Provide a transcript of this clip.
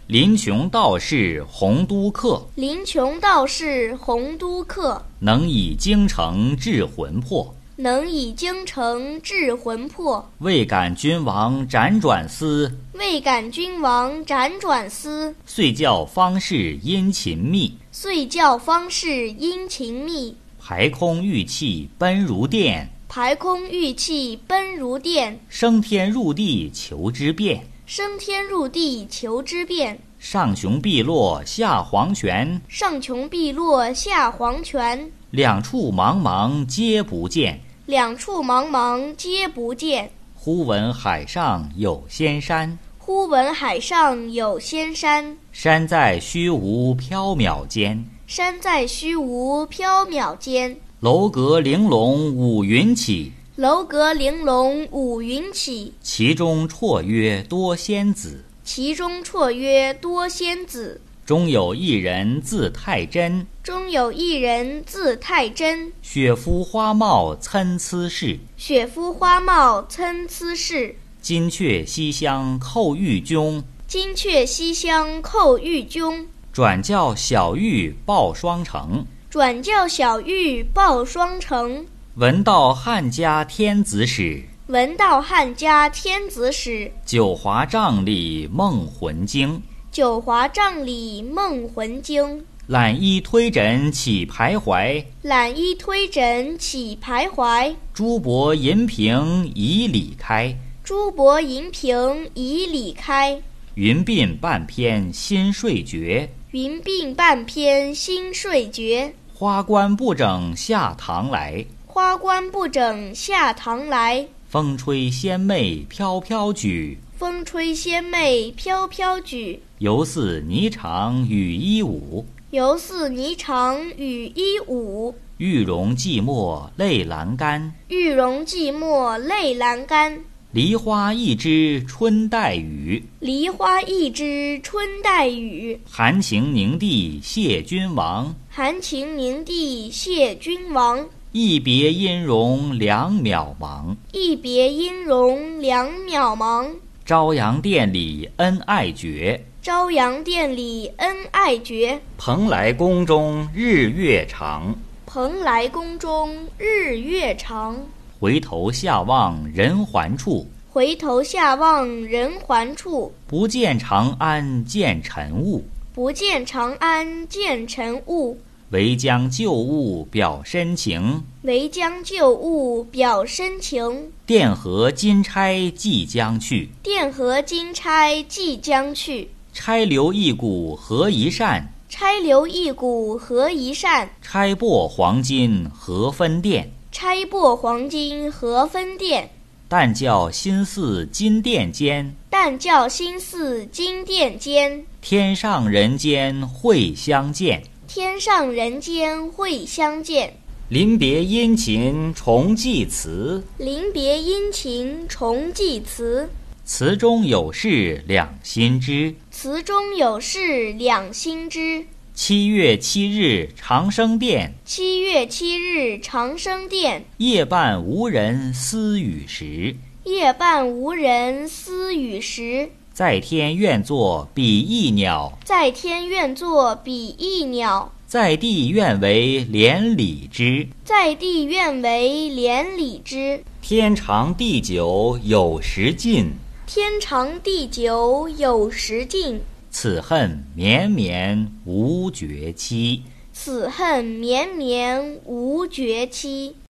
林琼道士洪都客， 林琼道士洪都客， 能以精诚治魂魄。 能以精诚治魂魄。 未感君王辗转思， 未感君王辗转思。 遂教方士殷勤密， 遂教方士殷勤密。 排空玉气奔如电， 排空玉气奔如电。 升天入地求之变， 升天入地求之变。 上穷碧落下黄泉， 上穷碧落下黄泉。 两处茫茫皆不见， 两处茫茫皆不见。 忽闻海上有仙山， 忽闻海上有仙山。 山在虚无缥缈间， 山在虚无缥缈间。 楼阁玲珑五云起， 楼阁玲珑五云起。 其中绰约多仙子， 其中绰约多仙子。 中有一人字太真， 中有一人字太真。 雪肤花貌参差是， 雪肤花貌参差是。 金阙西厢叩玉钟， 金阙西厢叩玉钟。 转教小玉报双成， 转教小玉报双成。 闻道汉家天子使， 闻道汉家天子使。 九华帐里梦魂惊， 九华帐里梦魂惊。 揽衣推枕起徘徊， 揽衣推枕起徘徊。 珠箔银瓶已里开， 珠箔银瓶已里开。 云鬓半偏新睡觉， 云鬓半偏新睡觉。 花冠不整下堂来， 花冠不整下堂来。 风吹仙袂飘飘举， 风吹仙袂飘飘举。 犹似霓裳羽衣舞， 犹似霓裳羽衣舞。 玉容寂寞泪阑干， 玉容寂寞泪阑干。 梨花一枝春带雨， 梨花一枝春带雨。 含情凝地谢君王， 含情凝地谢君王。 一别音容两渺茫， 一别音容两渺茫。 朝阳殿里恩爱绝， 朝阳殿里恩爱绝。 蓬莱宫中日月长， 蓬莱宫中日月长。 回头下望人寰处， 回头下望人寰处。 不见长安见尘雾， 不见长安见尘雾。 唯将旧物表深情， 唯将旧物表深情。 钿合金钗即将去， 钿合金钗即将去。 钗留一股合一扇， 钗留一股合一扇。 钗擘黄金何分钿， 钗擘黄金何分钿。 但教心似金殿间， 但教心似金殿间。 天上人间会相见， 天上人间会相见。 临别殷勤重寄词， 临别殷勤重寄词。 词中有事两心知， 词中有事两心知。 7月7日长生殿， 7月7日长生殿。 夜半无人私语时， 夜半无人私语时。 在天愿作比翼鸟， 在天愿作比翼鸟。 在地愿为连理枝， 在地愿为连理枝。 天长地久有时尽， 天长地久有时尽。 此恨绵绵无绝期， 此恨绵绵无绝期。